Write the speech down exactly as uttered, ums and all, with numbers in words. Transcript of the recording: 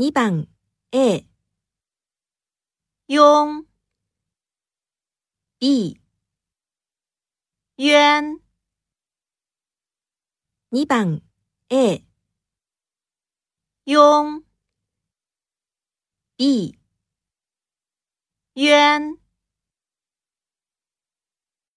にばん A、 庸、 B、 冤、 にばん A、 庸、 B、 冤。